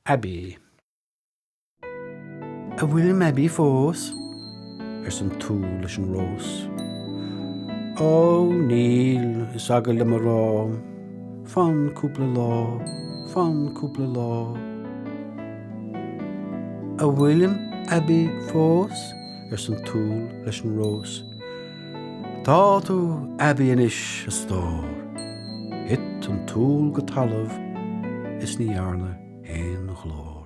Abbey. A William Abbey fós san túl leis an rós. Ó níl is agad le mar rá, fan cúpla lá. A William Abbey fós san túl leis an rós. Tá tú Abbey inis a stór, hit an túl go talamh is ní arna éon chlór.